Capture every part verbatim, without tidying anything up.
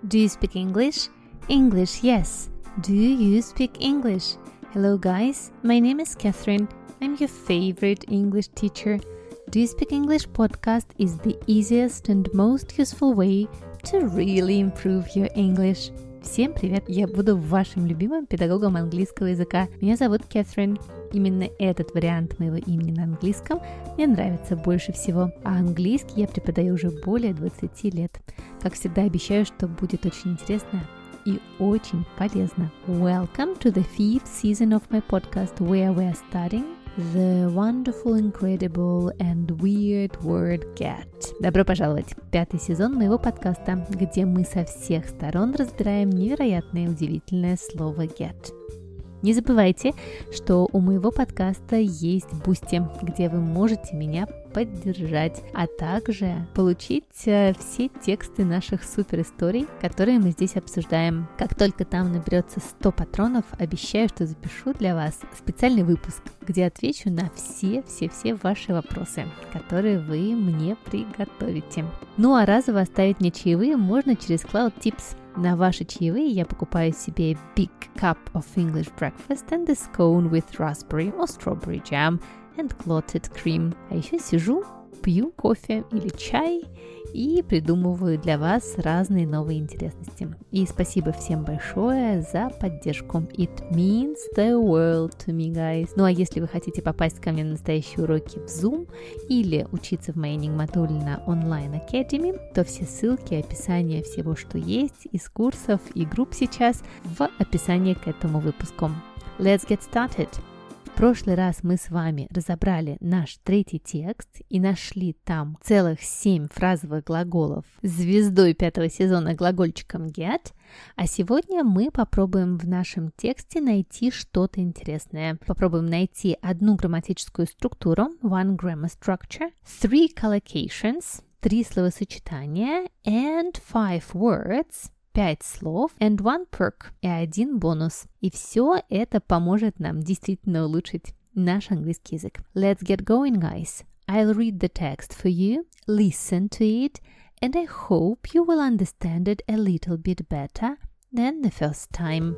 Do you speak English? English, yes. Do you speak English? Hello guys, my name is Catherine. I'm your favorite English teacher. Do you speak English podcast is the easiest and most useful way to really improve your English. Всем привет! Я буду вашим любимым педагогом английского языка. Меня зовут Кэтрин. Именно этот вариант моего имени на английском мне нравится больше всего. А английский я преподаю уже более двадцать лет. Как всегда, обещаю, что будет очень интересно и очень полезно. Welcome to the fifth season of my podcast, where we are studying the wonderful, incredible and weird word get. Добро пожаловать в пятый сезон моего подкаста, где мы со всех сторон разбираем невероятное удивительное слово get. Не забывайте, что у моего подкаста есть Boosty, где вы можете меня поддержать, а также получить э, все тексты наших суперисторий, которые мы здесь обсуждаем. Как только там наберется сто патронов, обещаю, что запишу для вас специальный выпуск, где отвечу на все-все-все ваши вопросы, которые вы мне приготовите. Ну а разово оставить мне чаевые можно через Cloud Tips. На ваши чаевые я покупаю себе big cup of English breakfast and a scone with raspberry or strawberry jam and clotted cream. А еще сижу, пью кофе или чай и придумываю для вас разные новые интересности. И спасибо всем большое за поддержку. It means the world to me, guys. Ну а если вы хотите попасть ко мне на настоящие уроки в Zoom или учиться в моей Нигматуллина онлайн Academy, то все ссылки и описание всего, что есть из курсов и групп сейчас в описании к этому выпуску. Let's get started! В прошлый раз мы с вами разобрали наш третий текст и нашли там целых семь фразовых глаголов звездой пятого сезона глагольчиком get, а сегодня мы попробуем в нашем тексте найти что-то интересное. Попробуем найти одну грамматическую структуру, one grammar structure, three collocations, три словосочетания, and five words, пять слов, and one perk, и один бонус. И все это поможет нам действительно улучшить наш английский язык. Let's get going, guys. I'll read the text for you, listen to it, and I hope you will understand it a little bit better than the first time.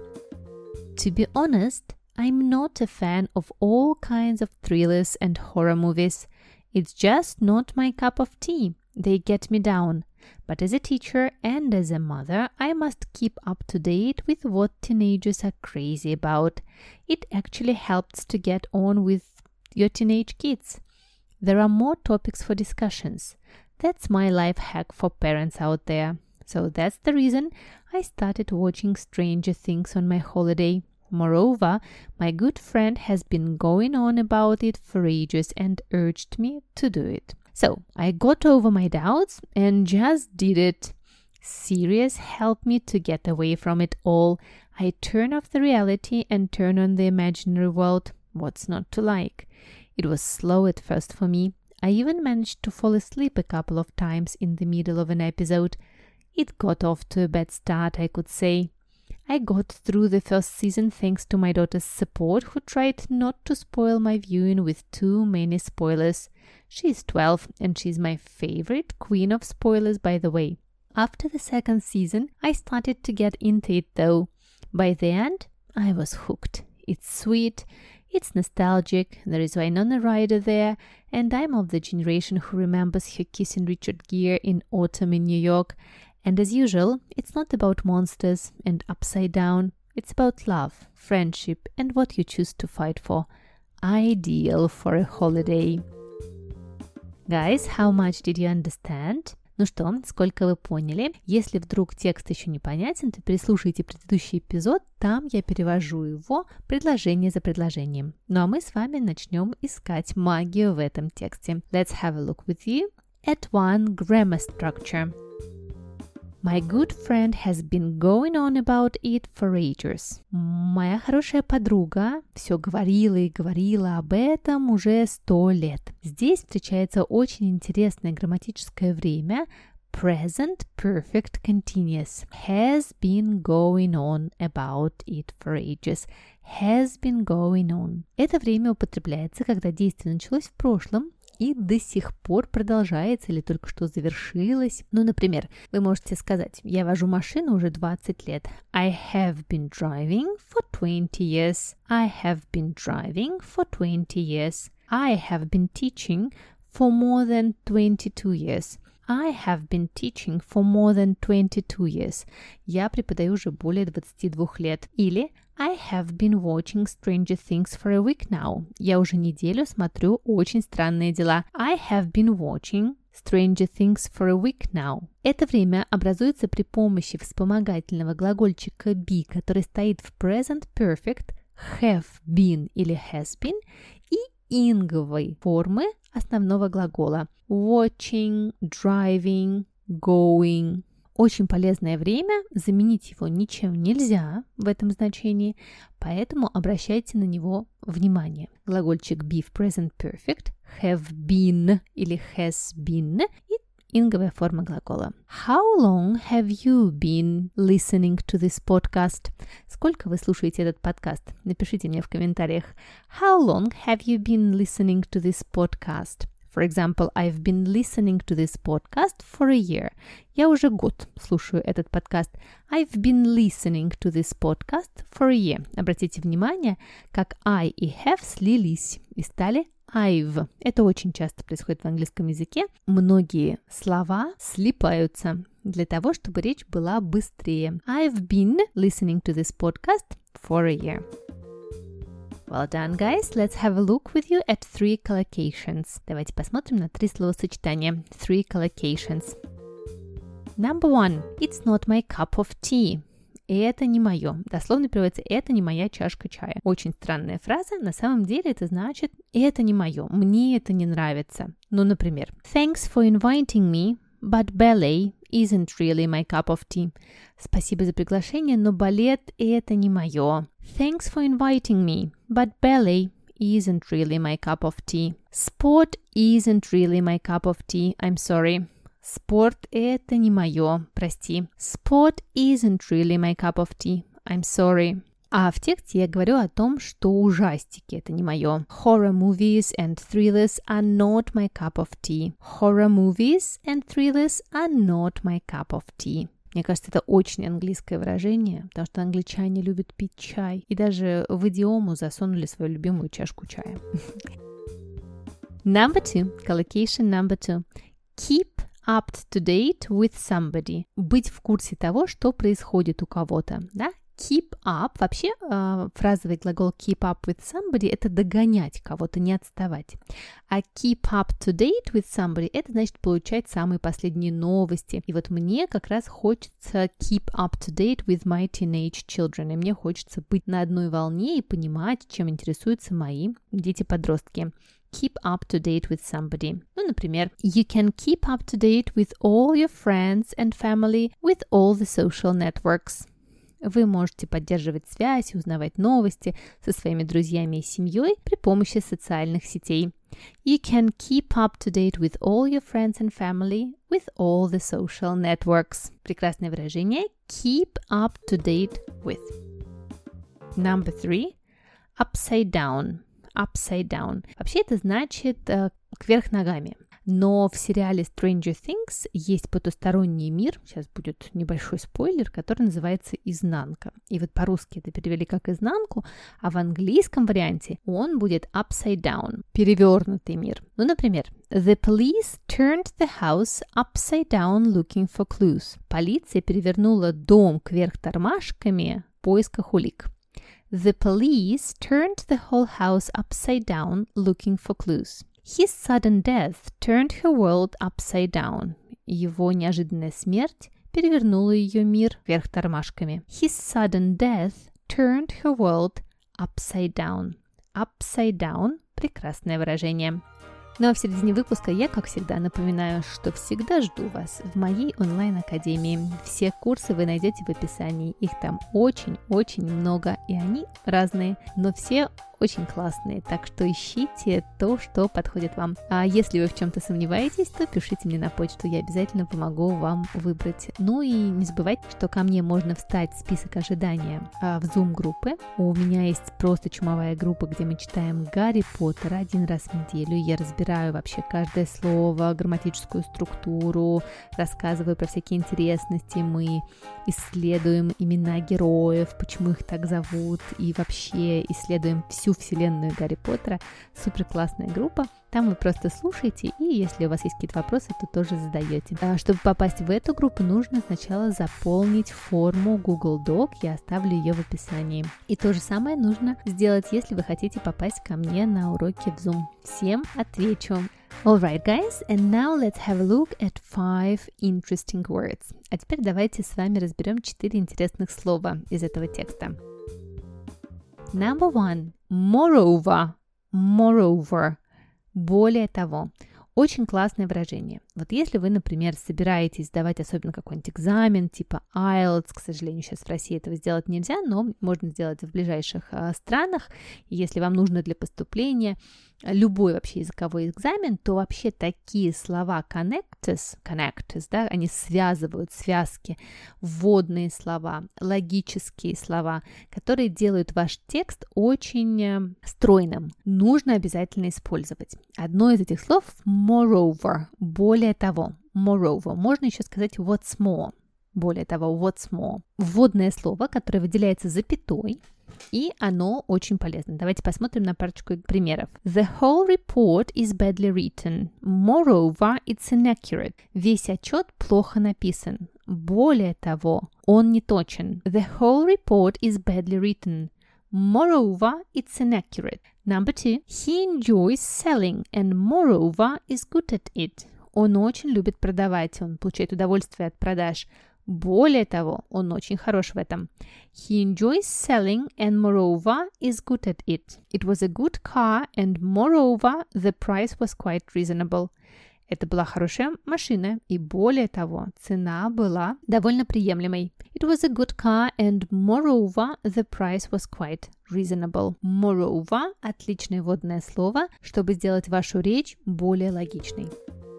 To be honest, I'm not a fan of all kinds of thrillers and horror movies. It's just not my cup of tea. They get me down. But as a teacher and as a mother, I must keep up to date with what teenagers are crazy about. It actually helps to get on with your teenage kids. There are more topics for discussions. That's my life hack for parents out there. So that's the reason I started watching Stranger Things on my holiday. Moreover, my good friend has been going on about it for ages and urged me to do it. So, I got over my doubts and just did it. Series helped me to get away from it all. I turn off the reality and turn on the imaginary world. What's not to like? It was slow at first for me. I even managed to fall asleep a couple of times in the middle of an episode. It got off to a bad start, I could say. I got through the first season thanks to my daughter's support, who tried not to spoil my viewing with too many spoilers. She's twelve and she's my favorite queen of spoilers, by the way. After the second season, I started to get into it though. By the end, I was hooked. It's sweet, it's nostalgic, there is Winona Ryder there, and I'm of the generation who remembers her kissing Richard Gere in Autumn in New York. And as usual, it's not about monsters and upside down. It's about love, friendship, and what you choose to fight for. Ideal for a holiday. Guys, how much did you understand? Ну что, сколько вы поняли? Если вдруг текст еще непонятен, то переслушайте предыдущий эпизод, там я перевожу его предложение за предложением. Ну а мы с вами начнем искать магию в этом тексте. Let's have a look with you at one grammar structure. My good friend has been going on about it for ages. Моя хорошая подруга все говорила и говорила об этом уже сто лет. Здесь встречается очень интересное грамматическое время present perfect continuous. Has been going on about it for ages. Has been going on. Это время употребляется, когда действие началось в прошлом и до сих пор продолжается или только что завершилось. Ну, например, вы можете сказать: я вожу машину уже двадцать лет. I have been driving for twenty years. I have been driving for twenty years. I have been teaching for more than twenty-two years. I have been teaching for more than twenty-two years. Я преподаю уже более двадцати двух лет. Или I have been watching Stranger Things for a week now. Я уже неделю смотрю «Очень странные дела». I have been watching Stranger Things for a week now. Это время образуется при помощи вспомогательного глагольчика be, который стоит в present perfect, have been или has been, и инговой формы основного глагола watching, driving, going. Очень полезное время, заменить его ничем нельзя в этом значении, поэтому обращайте на него внимание. Глагольчик be в present perfect, have been или has been и инговая форма глагола. How long have you been listening to this podcast? Сколько вы слушаете этот подкаст? Напишите мне в комментариях. How long have you been listening to this podcast? For example, I've been listening to this podcast for a year. Я уже год слушаю этот подкаст. I've been listening to this podcast for a year. Обратите внимание, как I и have слились и стали I've. Это очень часто происходит в английском языке. Многие слова слипаются для того, чтобы речь была быстрее. I've been listening to this podcast for a year. Well done, guys. Let's have a look with you at three collocations. Давайте посмотрим на три словосочетания. Three collocations. Number one. It's not my cup of tea. Это не мое. Дословно переводится «это не моя чашка чая». Очень странная фраза. На самом деле это значит «это не мое, мне это не нравится». Ну, например, Thanks for inviting me, but ballet isn't really my cup of tea. Спасибо за приглашение, но балет – это не мое. Thanks for inviting me, but ballet isn't really my cup of tea. Sport isn't really my cup of tea. I'm sorry. Спорт – это не мое, прости. Sport isn't really my cup of tea. I'm sorry. А в тексте я говорю о том, что ужастики – это не мое. Horror movies and thrillers are not my cup of tea. Horror movies and thrillers are not my cup of tea. Мне кажется, это очень английское выражение, потому что англичане любят пить чай и даже в идиому засунули свою любимую чашку чая. Number two. Collocation number two. Keep up to date with somebody. Быть в курсе того, что происходит у кого-то, да? Keep up, вообще э, фразовый глагол keep up with somebody – это догонять кого-то, не отставать. А keep up to date with somebody – это значит получать самые последние новости. И вот мне как раз хочется keep up to date with my teenage children. И мне хочется быть на одной волне и понимать, чем интересуются мои дети-подростки. Keep up to date with somebody. Ну, например, you can keep up to date with all your friends and family with all the social networks. Вы можете поддерживать связь и узнавать новости со своими друзьями и семьей при помощи социальных сетей. You can keep up to date with all your friends and family with all the social networks. Прекрасное выражение. Keep up to date with. Number three. Upside down. Upside down. Вообще это значит э, кверх ногами. Но в сериале Stranger Things есть потусторонний мир, сейчас будет небольшой спойлер, который называется «Изнанка». И вот по-русски это перевели как «изнанку», а в английском варианте он будет «upside down», перевернутый мир. Ну, например, The police turned the house upside down looking for clues. Полиция перевернула дом кверх тормашками в поисках улик. The police turned the whole house upside down looking for clues. His sudden death turned her world upside down. Его неожиданная смерть перевернула ее мир вверх тормашками. His sudden death turned her world upside down. Upside down – прекрасное выражение. Ну а в середине выпуска я, как всегда, напоминаю, что всегда жду вас в моей онлайн-академии. Все курсы вы найдете в описании. Их там очень-очень много, и они разные, но все очень классные, так что ищите то, что подходит вам. А если вы в чем-то сомневаетесь, то пишите мне на почту, я обязательно помогу вам выбрать. Ну и не забывайте, что ко мне можно встать в список ожидания в Zoom-группы. У меня есть просто чумовая группа, где мы читаем Гарри Поттера один раз в неделю. Я разбираю вообще каждое слово, грамматическую структуру, рассказываю про всякие интересности, мы исследуем имена героев, почему их так зовут, и вообще исследуем всю вселенную Гарри Поттера. Супер классная группа. Там вы просто слушаете, и если у вас есть какие-то вопросы, то тоже задаете. А чтобы попасть в эту группу, нужно сначала заполнить форму Google Doc, я оставлю ее в описании. И то же самое нужно сделать, если вы хотите попасть ко мне на уроки в Zoom. Всем отвечу. Alright, guys, and now let's have a look at five interesting words. А теперь давайте с вами разберем четыре интересных слова из этого текста. Number one. Moreover. Moreover. Более того. Очень классное выражение. Вот если вы, например, собираетесь сдавать особенно какой-нибудь экзамен, типа айлтс, к сожалению, сейчас в России этого сделать нельзя, но можно сделать в ближайших а, странах. И если вам нужно для поступления любой вообще языковой экзамен, то вообще такие слова connectors, connectors, да, они связывают связки, вводные слова, логические слова, которые делают ваш текст очень стройным. Нужно обязательно использовать. Одно из этих слов moreover, более того, moreover. Можно еще сказать what's more, более того, what's more. Вводное слово, которое выделяется запятой, и оно очень полезно. Давайте посмотрим на парочку примеров. The whole report is badly written. Moreover, it's inaccurate. Весь отчет плохо написан. Более того, он не точен. The whole report is badly written. Moreover, it's inaccurate. Number two. He enjoys selling and moreover is good at it. Он очень любит продавать, он получает удовольствие от продаж. Более того, он очень хорош в этом. He enjoys selling and moreover is good at it. It was a good car and moreover the price was quite reasonable. Это была хорошая машина, и более того, цена была довольно приемлемой. It was a good car and moreover the price was quite reasonable. Moreover – отличное вводное слово, чтобы сделать вашу речь более логичной.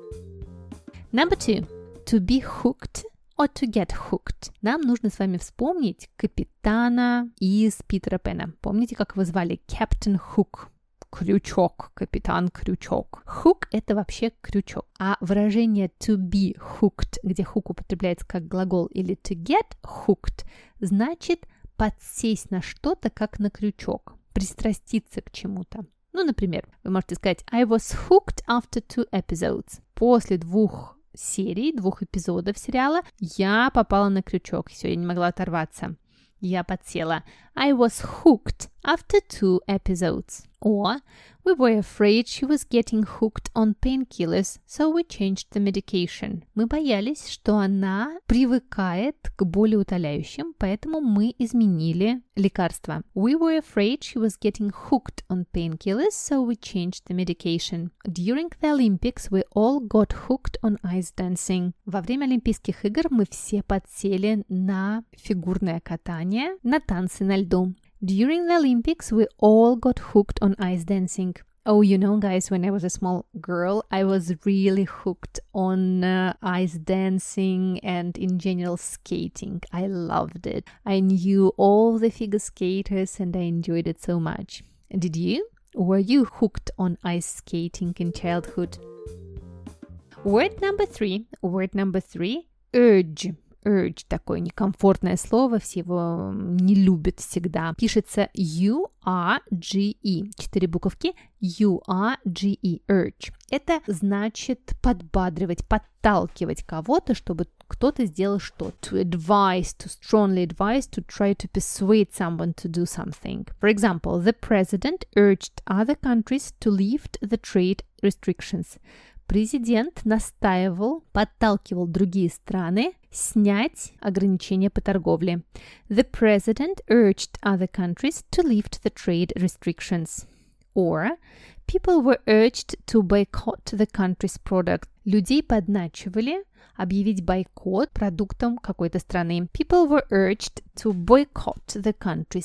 Number two. To be hooked or to get hooked. Нам нужно с вами вспомнить капитана из Питера Пэна. Помните, как его звали? Captain Hook. Крючок, капитан Крючок. Hook – это вообще крючок. А выражение to be hooked, где hook употребляется как глагол, или to get hooked, значит подсесть на что-то, как на крючок, пристраститься к чему-то. Ну, например, вы можете сказать I was hooked after two episodes. После двух серий, двух эпизодов сериала я попала на крючок. Все, я не могла оторваться. Я подсела. I was hooked after two episodes. Or, we were afraid she was getting hooked on painkillers, so we changed the medication. Мы боялись, что она привыкает к болеутоляющим, поэтому мы изменили лекарство. We were afraid she was getting hooked on painkillers, so we changed the medication. During the Olympics, we all got hooked on ice dancing. Во время Олимпийских игр мы все подсели на фигурное катание, на танцы на льду. During the Olympics, we all got hooked on ice dancing. Oh, you know, guys, when I was a small girl, I was really hooked on uh, ice dancing and in general skating. I loved it. I knew all the figure skaters and I enjoyed it so much. Did you? Were you hooked on ice skating in childhood? Word number three. Word number three. Urge. Urge, такое некомфортное слово, все его не любят всегда. Пишется U-R-G-E. Четыре буковки. U-R-G-E. Urge. Это значит подбадривать, подталкивать кого-то, чтобы кто-то сделал что. To advise, to strongly advise, to try to persuade someone to do something. For example, the president urged other countries to lift the trade restrictions. Президент настаивал, подталкивал другие страны снять ограничения по торговле. The president urged other countries to lift the trade restrictions. Or, people were urged to boycott the country's product. Людей подначивали объявить бойкот продуктам какой-то страны. People were urged to boycott the country's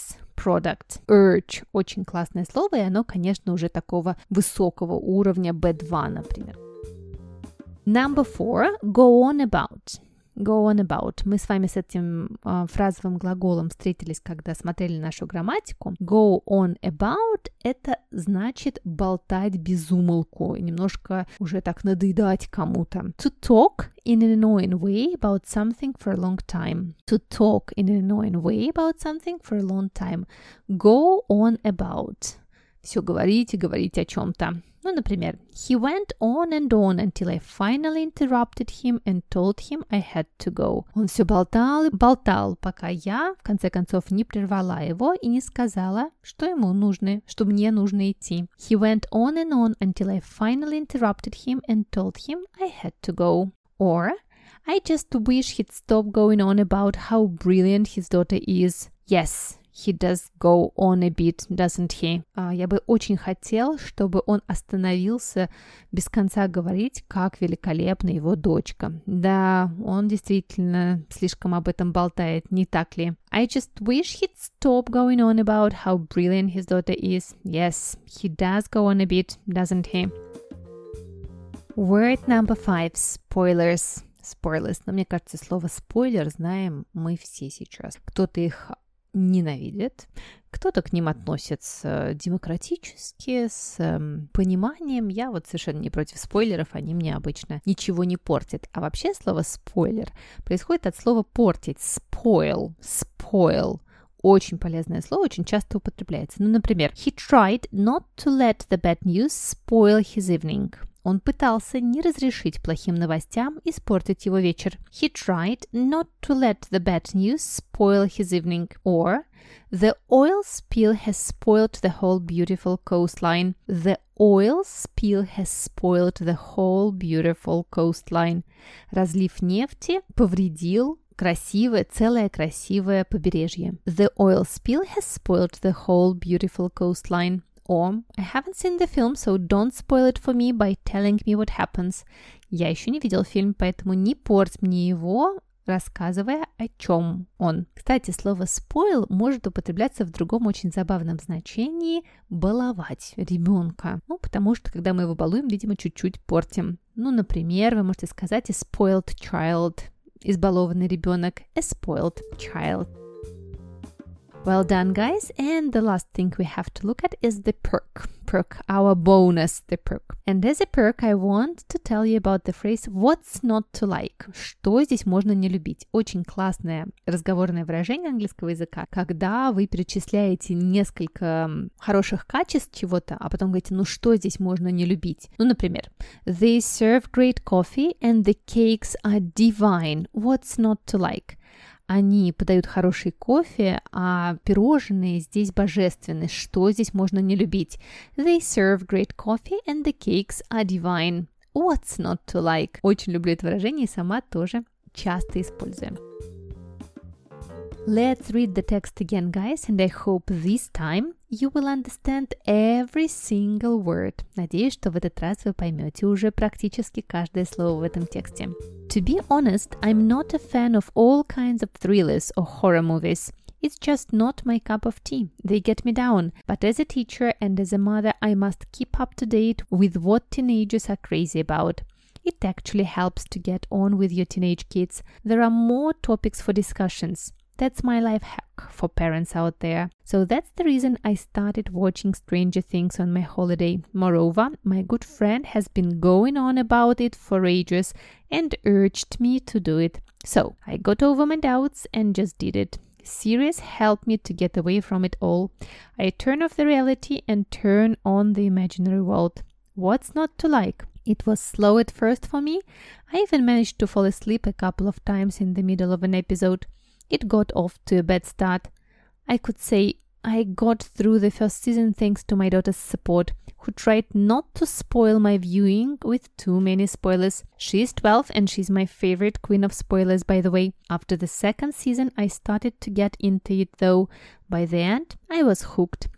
product. Urge – очень классное слово, и оно, конечно, уже такого высокого уровня би два, например. Number four, go on about. Go on about. Мы с вами с этим э, фразовым глаголом встретились, когда смотрели нашу грамматику. Go on about – это значит болтать без умолку, немножко уже так надоедать кому-то. To talk in an annoying way about something for a long time. To talk in an annoying way about something for a long time. Go on about. Все говорить и говорить о чем-то. Ну, например, he went on and on until I finally interrupted him and told him I had to go. Он все болтал и болтал, пока я, в конце концов, не прервала его и не сказала, что ему нужно, что мне нужно идти. He went on and on until I finally interrupted him and told him I had to go. Or, I just wish he'd stop going on about how brilliant his daughter is. Yes, he does go on a bit, doesn't he? А, я бы очень хотел, чтобы он остановился без конца говорить, как великолепна его дочка. Да, он действительно слишком об этом болтает, не так ли? I just wish he'd stop going on about how brilliant his daughter is. Yes, he does go on a bit, doesn't he? Word number five. Spoilers. Spoilers. Но мне кажется, слово спойлер знаем мы все сейчас. Кто-то их ненавидит, кто-то к ним относится демократически, с эм, пониманием. Я вот совершенно не против спойлеров, они мне обычно ничего не портят. А вообще слово спойлер происходит от слова портить. Spoil, spoil. Очень полезное слово, очень часто употребляется. Ну, например, he tried not to let the bad news spoil his evening. Он пытался не разрешить плохим новостям испортить его вечер. He tried not to let the bad news spoil his evening. Or, the oil spill has spoiled the whole beautiful coastline. The oil spill has spoiled the whole beautiful coastline. Разлив нефти повредил красивое, целое красивое побережье. The oil spill has spoiled the whole beautiful coastline. Or, I haven't seen the film, so don't spoil it for me by telling me what happens. Я еще не видел фильм, поэтому не порть мне его, рассказывая, о чем он. Кстати, слово spoil может употребляться в другом очень забавном значении – баловать ребенка. Ну, потому что, когда мы его балуем, видимо, чуть-чуть портим. Ну, например, вы можете сказать a spoiled child – избалованный ребенок, a spoiled child. Well done, guys. And the last thing we have to look at is the perk. Perk, our bonus, the perk. And as a perk, I want to tell you about the phrase what's not to like. Что здесь можно не любить? Очень классное разговорное выражение английского языка, когда вы перечисляете несколько хороших качеств чего-то, а потом говорите, ну что здесь можно не любить? Ну, например, they serve great coffee and the cakes are divine. What's not to like? Они подают хороший кофе, а пирожные здесь божественны. Что здесь можно не любить? They serve great coffee and the cakes are divine. What's not to like? Очень люблю это выражение и сама тоже часто использую. Let's read the text again, guys, and I hope this time you will understand every single word. Надеюсь, что в этот раз вы поймете уже практически каждое слово в этом тексте. To be honest, I'm not a fan of all kinds of thrillers or horror movies. It's just not my cup of tea. They get me down. But as a teacher and as a mother, I must keep up to date with what teenagers are crazy about. It actually helps to get on with your teenage kids. There are more topics for discussions. That's my life hack for parents out there. So that's the reason I started watching Stranger Things on my holiday. Moreover, my good friend has been going on about it for ages and urged me to do it. So I got over my doubts and just did it. Series helped me to get away from it all. I turn off the reality and turn on the imaginary world. What's not to like? It was slow at first for me. I even managed to fall asleep a couple of times in the middle of an episode. It got off to a bad start. I could say I got through the first season thanks to my daughter's support, who tried not to spoil my viewing with too many spoilers. She's twelve and she's my favorite queen of spoilers, by the way. After the second season, I started to get into it though. By the end, I was hooked.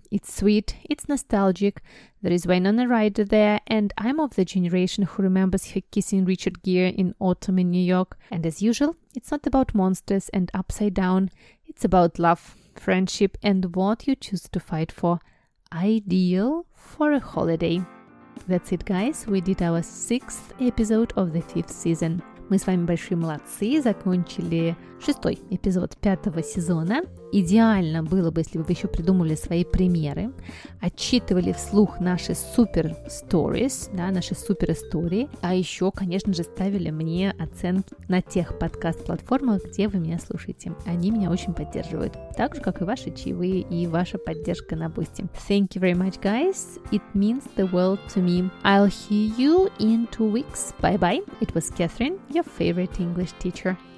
It's sweet, it's nostalgic, there is Winona Ryder there, and I'm of the generation who remembers her kissing Richard Gere in Autumn in New York. And as usual, it's not about monsters and upside down, it's about love, friendship, and what you choose to fight for. Ideal for a holiday. That's it, guys. We did our sixth episode of the fifth season. Мы с вами большие молодцы, закончили шестой эпизод пятого сезона. Идеально было бы, если бы вы еще придумали свои примеры, отчитывали вслух наши супер stories, да, наши супер истории, а еще, конечно же, ставили мне оценки на тех подкаст-платформах, где вы меня слушаете. Они меня очень поддерживают, так же, как и ваши чаевые и ваша поддержка на Boosty. Thank you very much, guys. It means the world to me. I'll hear you in two weeks. Bye-bye. It was Catherine, your favorite English teacher.